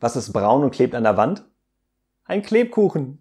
Was ist braun und klebt an der Wand? Ein Klebkuchen.